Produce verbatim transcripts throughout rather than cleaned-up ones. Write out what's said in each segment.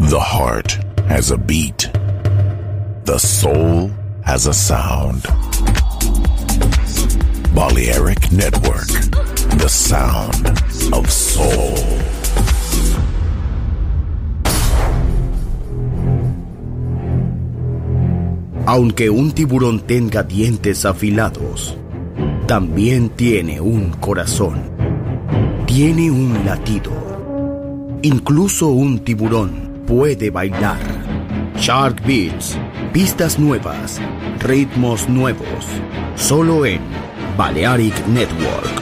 The heart has a beat. The soul has a sound. Balearic Network, the sound of soul. Aunque un tiburón tenga dientes afilados, también tiene un corazón. Tiene un latido. Incluso un tiburón puede bailar. Shark Beats, pistas nuevas, ritmos nuevos, solo en Balearic Network.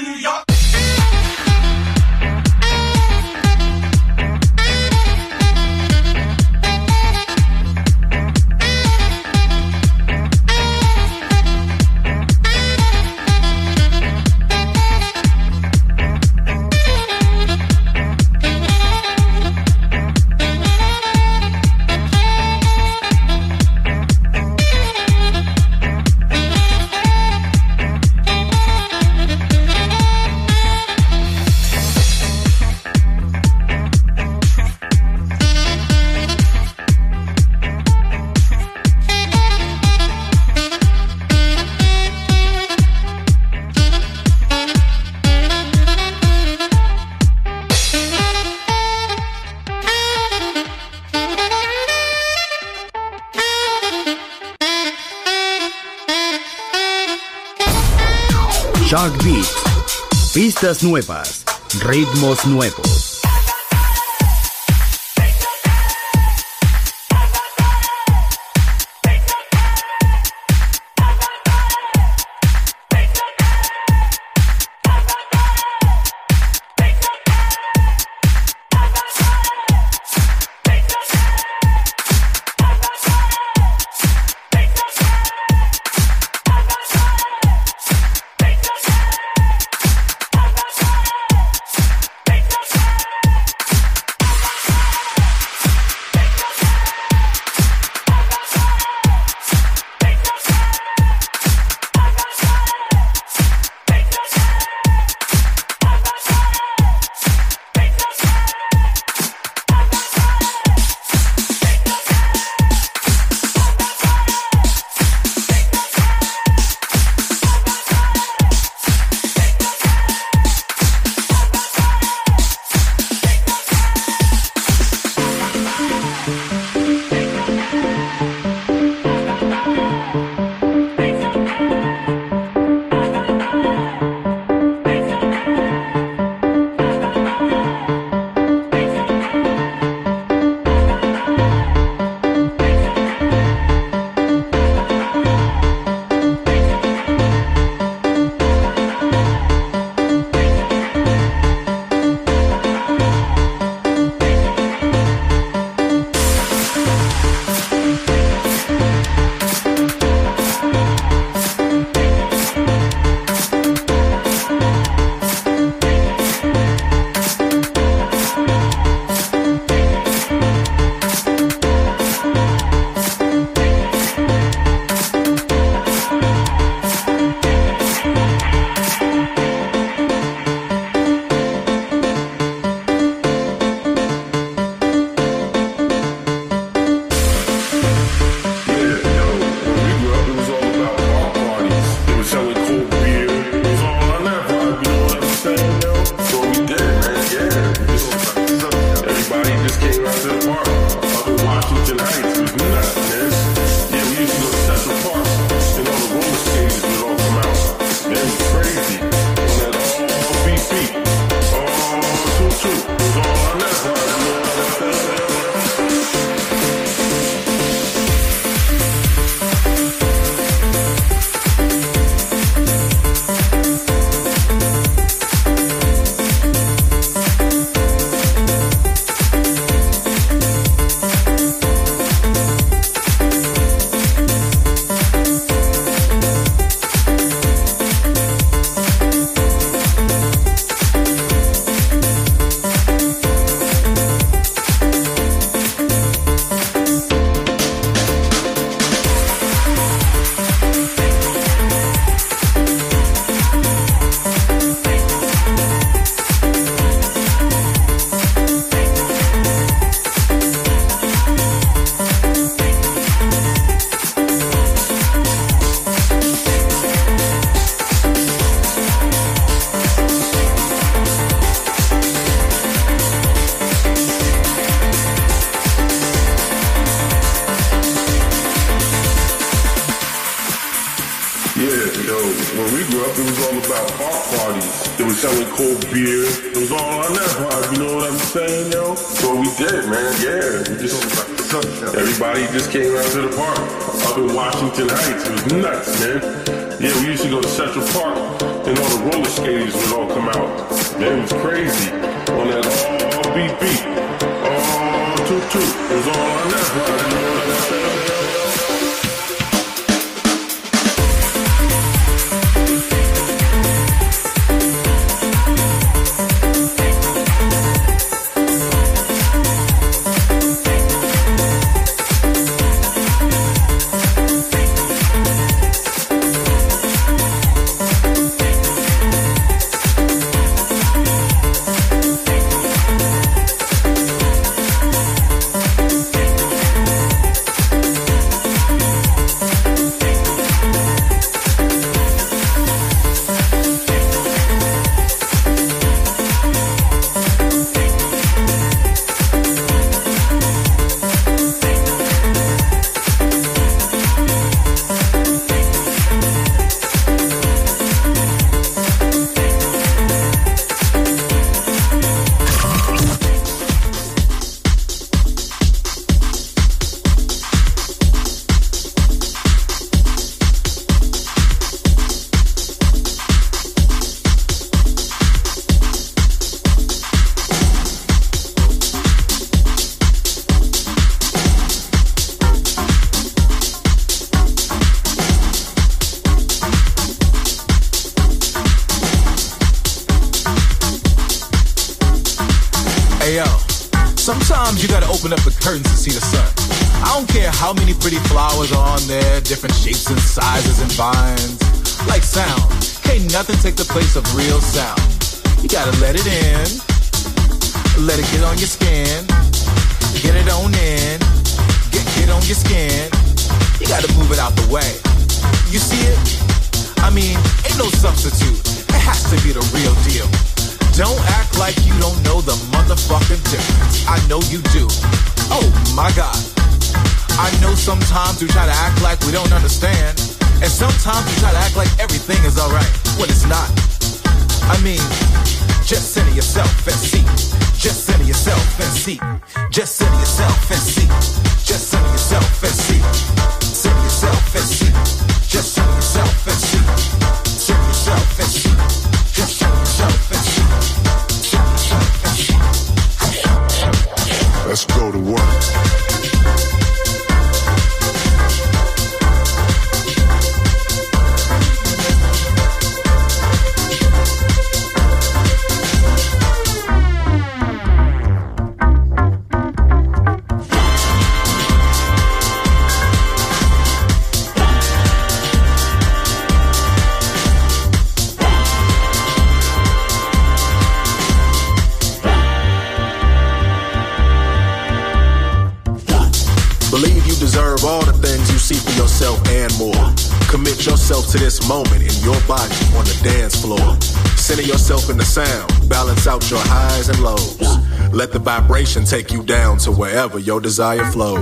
Shark Beats, pistas nuevas, ritmos nuevos. When we grew up, it was all about park parties. They were selling cold beer. It was all on that vibe, you know what I'm saying, yo? So we did, man, yeah. We just Everybody just came out to the park up in Washington Heights. It was nuts, man. Yeah, we used to go to Central Park and all the roller skaters would all come out. Man, it was crazy on that all beat beat. All toot toot. It was all on that. Sometimes you gotta open up the curtains to see the sun. I don't care how many pretty flowers are on there, different shapes and sizes and vines. Like sound, can't nothing take the place of real sound. You gotta let it in, let it get on your skin, get it on in, get, get on your skin. You gotta move it out the way. You see it? I mean, ain't no substitute. It has to be the real deal. Don't act like you don't know the motherfucking difference. I know you do. Oh my God. I know sometimes we try to act like we don't understand, and sometimes we try to act like everything is alright when it's not. I mean, just center yourself and see. Just center yourself and see. Just center yourself and see. Just center yourself and see. Center yourself and see. Just center yourself and see. Center yourself and see. Just center yourself and see. Let's go to work. All the things you see for yourself and more. Commit yourself to this moment in your body on the dance floor. Center yourself in the sound. Balance out your highs and lows. Let the vibration take you down to wherever your desire flows.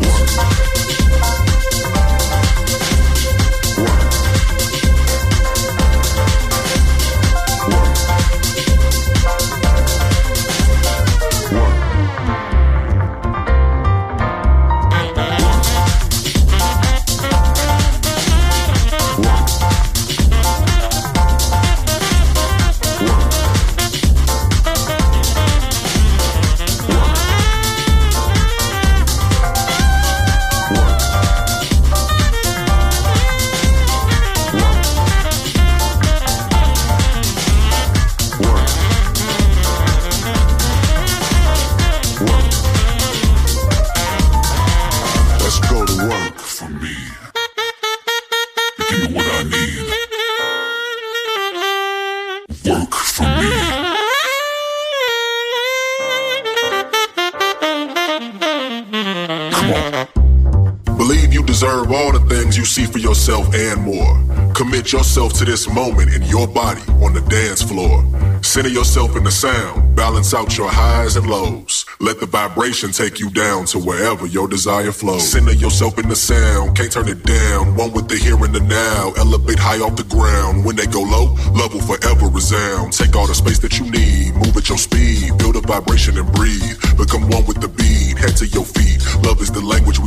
Deserve all the things you see for yourself and more. Commit yourself to this moment in your body on the dance floor. Center yourself in the sound. Balance out your highs and lows. Let the vibration take you down to wherever your desire flows. Center yourself in the sound. Can't turn it down. One with the here and the now. Elevate high off the ground. When they go low, love will forever resound. Take all the space that you need. Move at your speed. Feel the vibration and breathe. Become one with the beat. Head to your feet. Love is the language we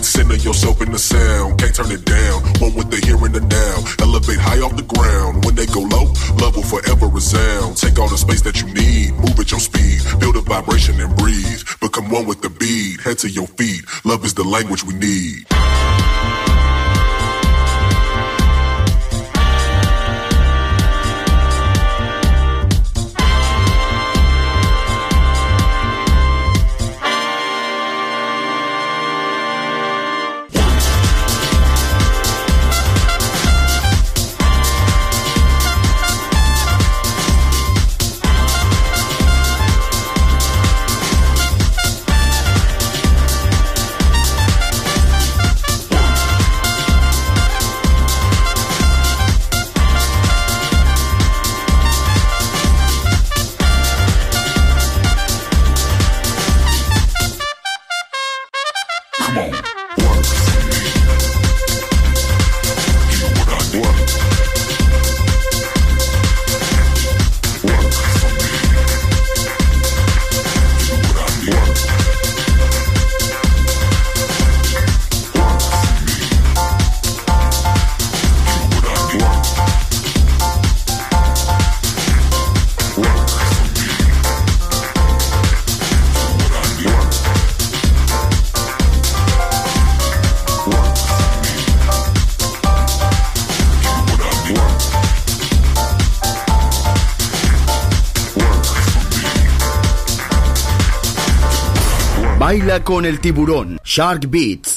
beat, center yourself in the sound. Can't turn it down, one with the here and the now. Elevate high off the ground. When they go low, love will forever resound. Take all the space that you need, move at your speed. Build a vibration and breathe. Become one with the beat, head to your feet. Love is the language we need. Baila con el tiburón, Shark Beats.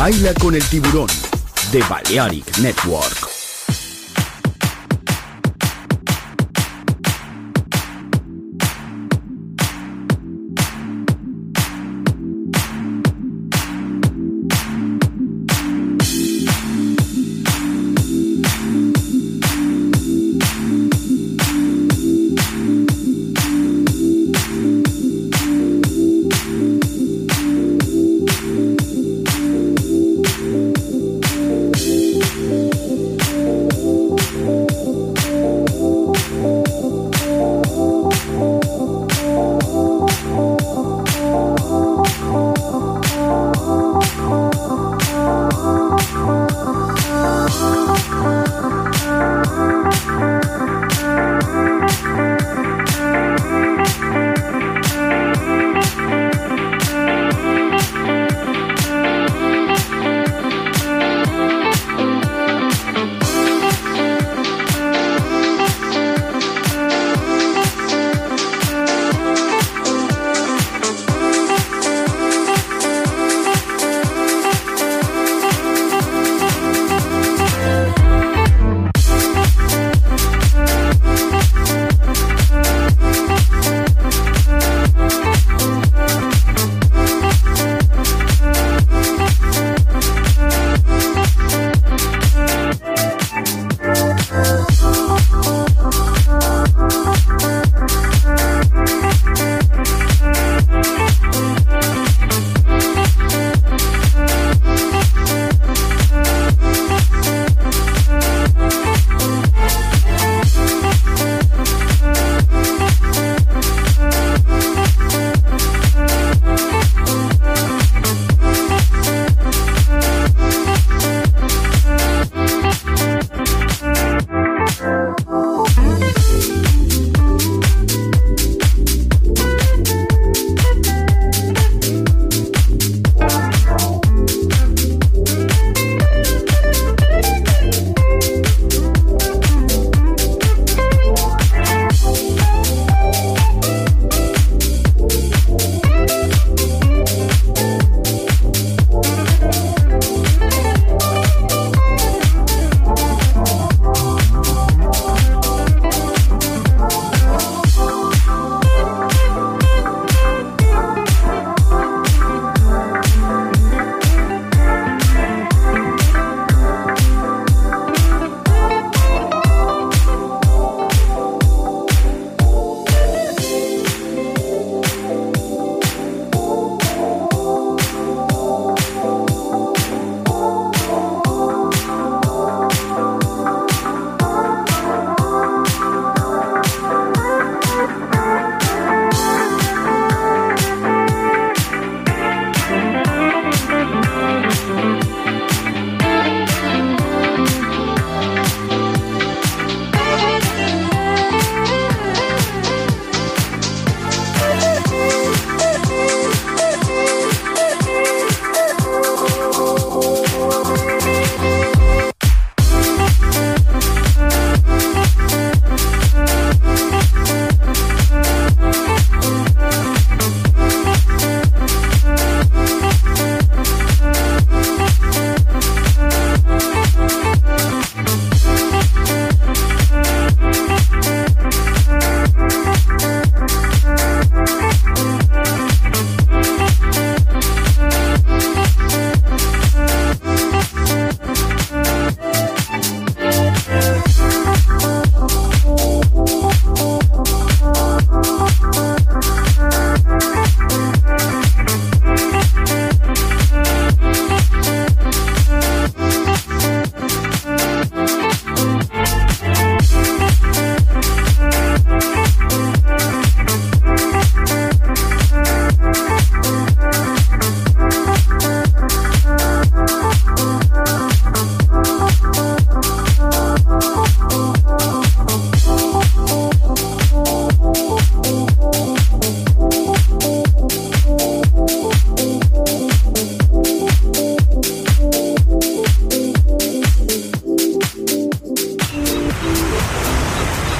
Baila con el tiburón de Balearic Network.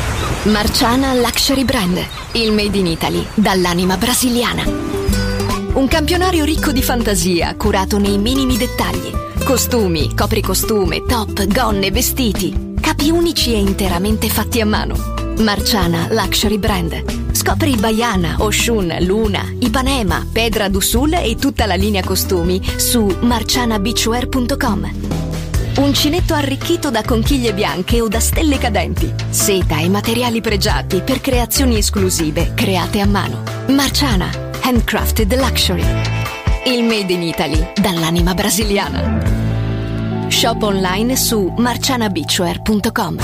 Marciana Luxury Brand, il made in Italy dall'anima brasiliana. Un campionario ricco di fantasia, curato nei minimi dettagli. Costumi, copricostume, top, gonne, vestiti. Capi unici e interamente fatti a mano. Marciana Luxury Brand. Scopri Baiana, Oshun, Luna, Ipanema, Pedra d'Usul e tutta la linea costumi su marciana beachwear punto com. Uncinetto arricchito da conchiglie bianche o da stelle cadenti. Seta e materiali pregiati per creazioni esclusive create a mano. Marciana, handcrafted luxury. Il made in Italy dall'anima brasiliana. Shop online su marciana beachwear punto com.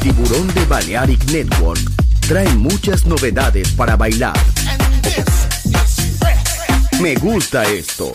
Tiburón de Balearic Network trae muchas novedades para bailar. Me gusta esto.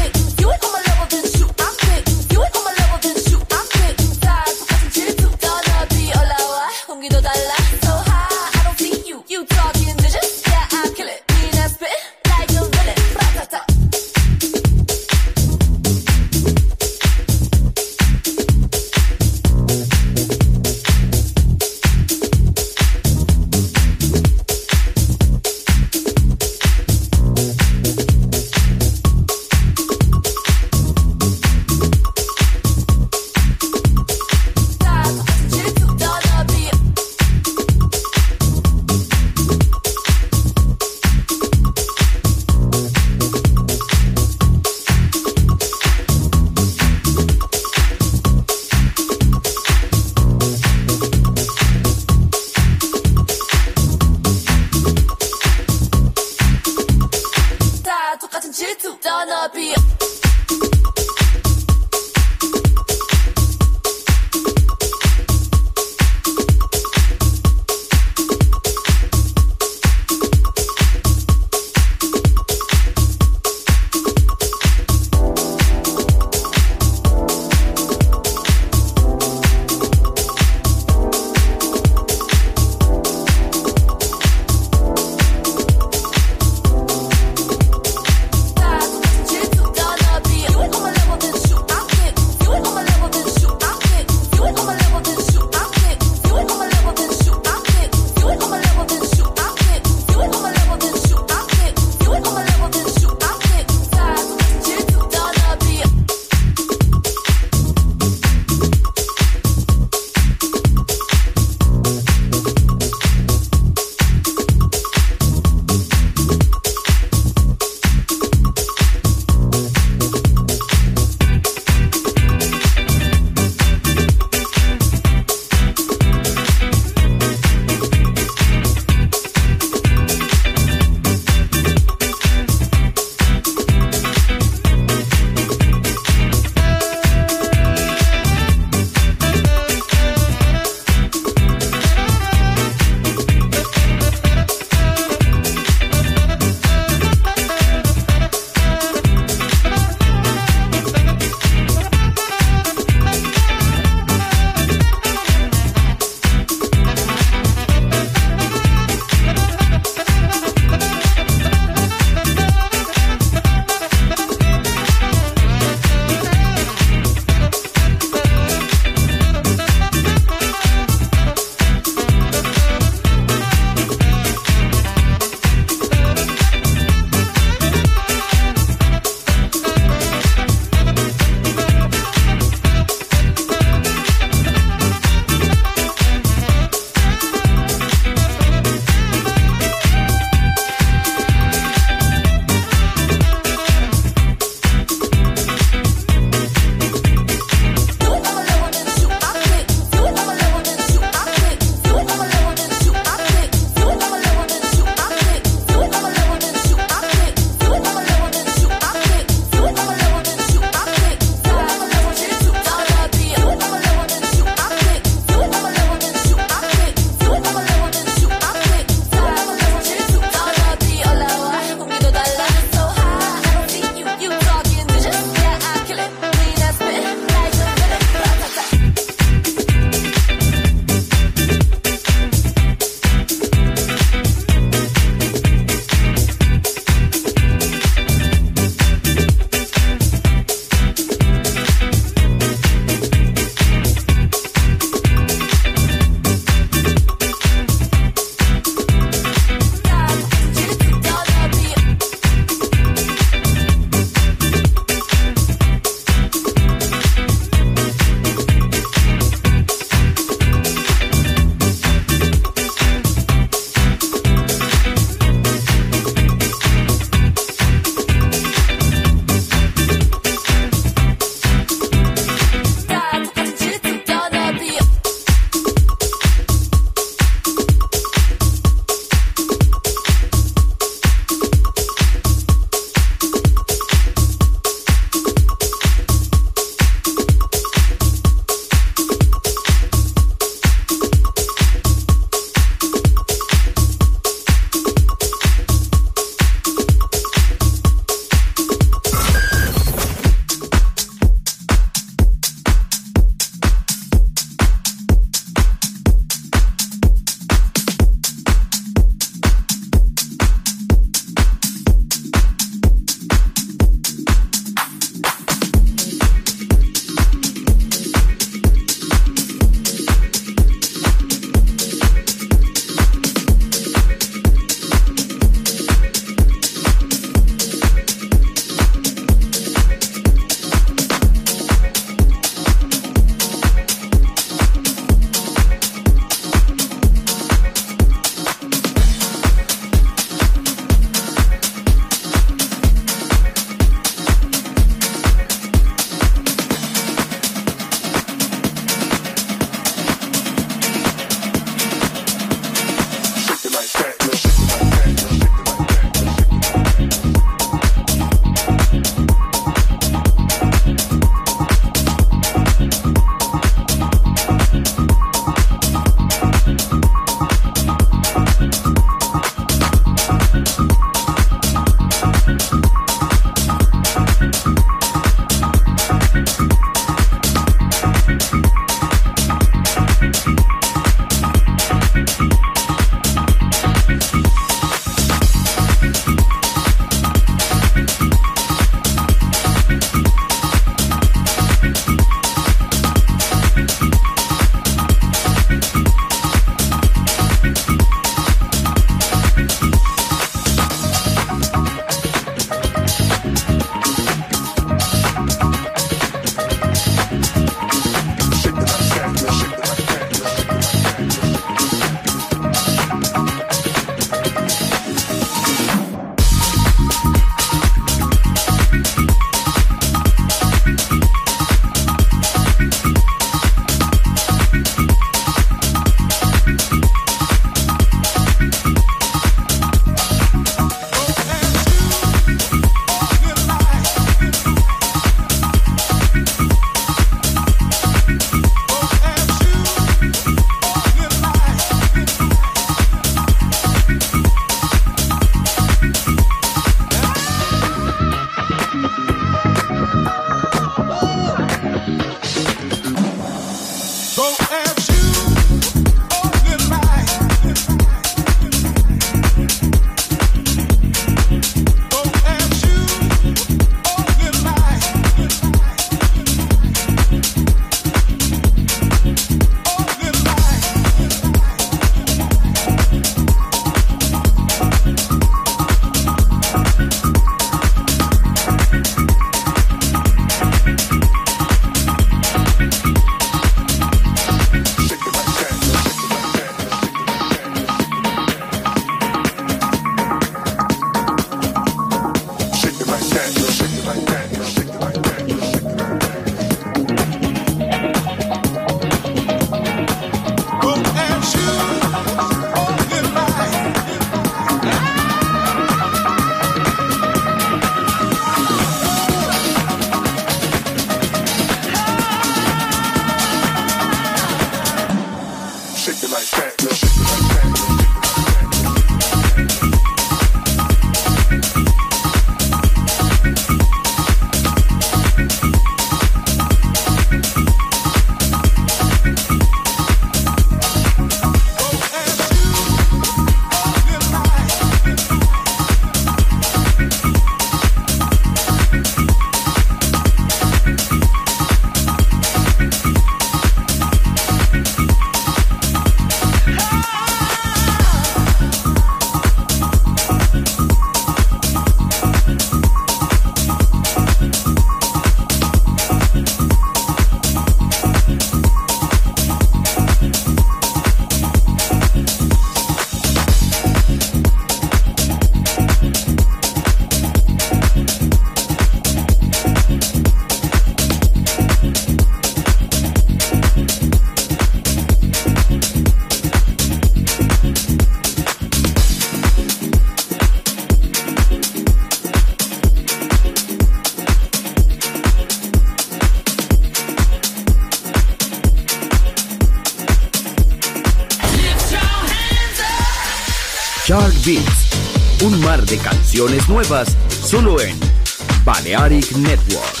Shark Beats, un mar de canciones nuevas solo en Balearic Network.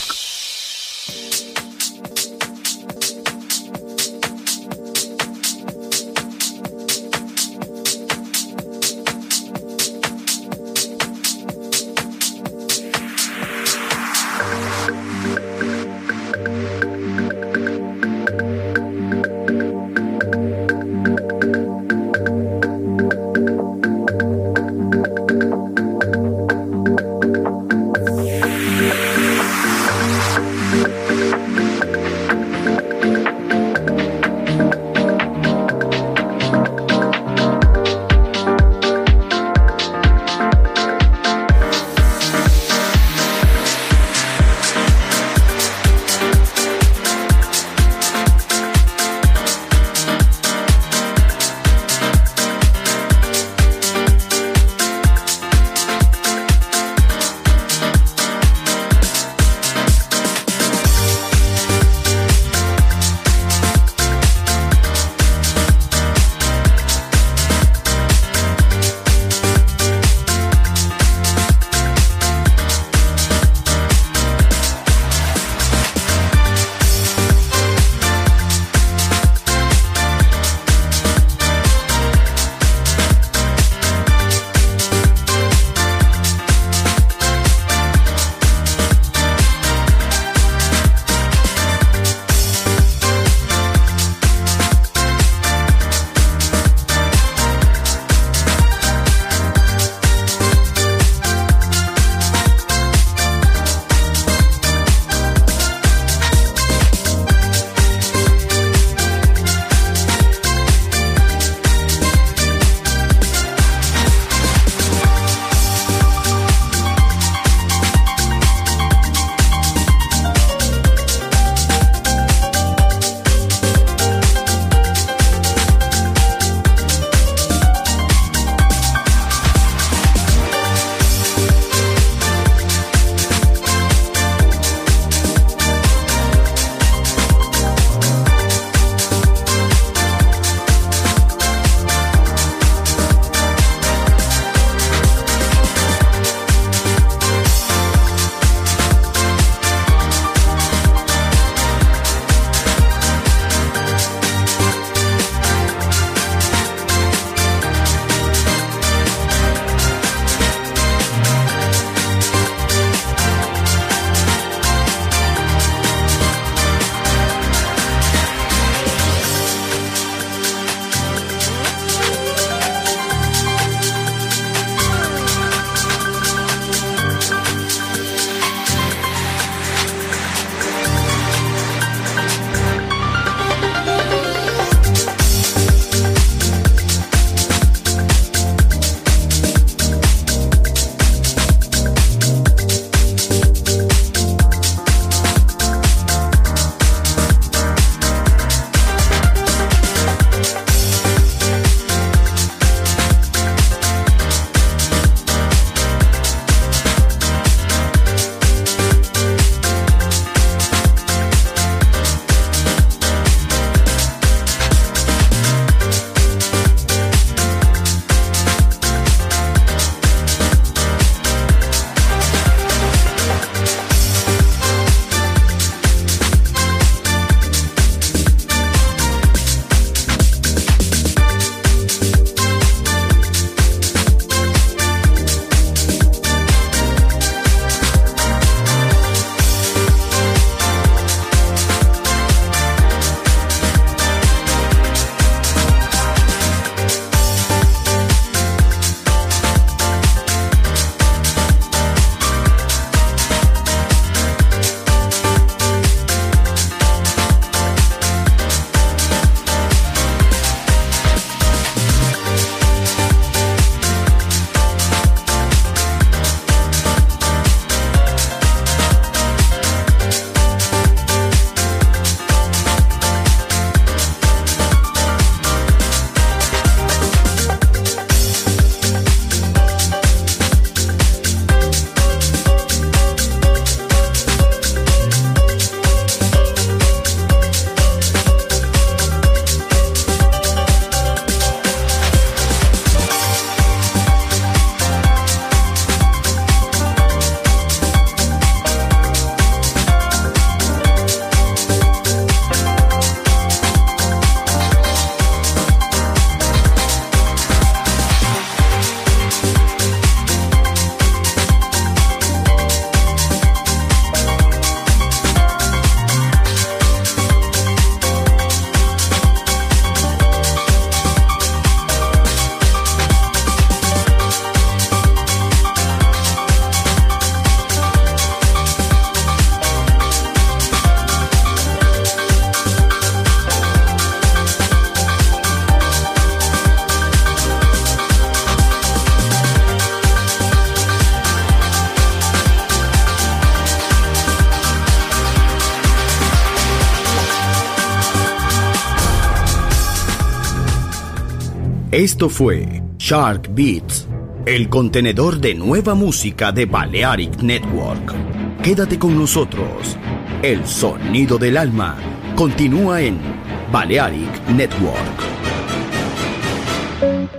Esto fue Shark Beats, el contenedor de nueva música de Balearic Network. Quédate con nosotros. El sonido del alma continúa en Balearic Network.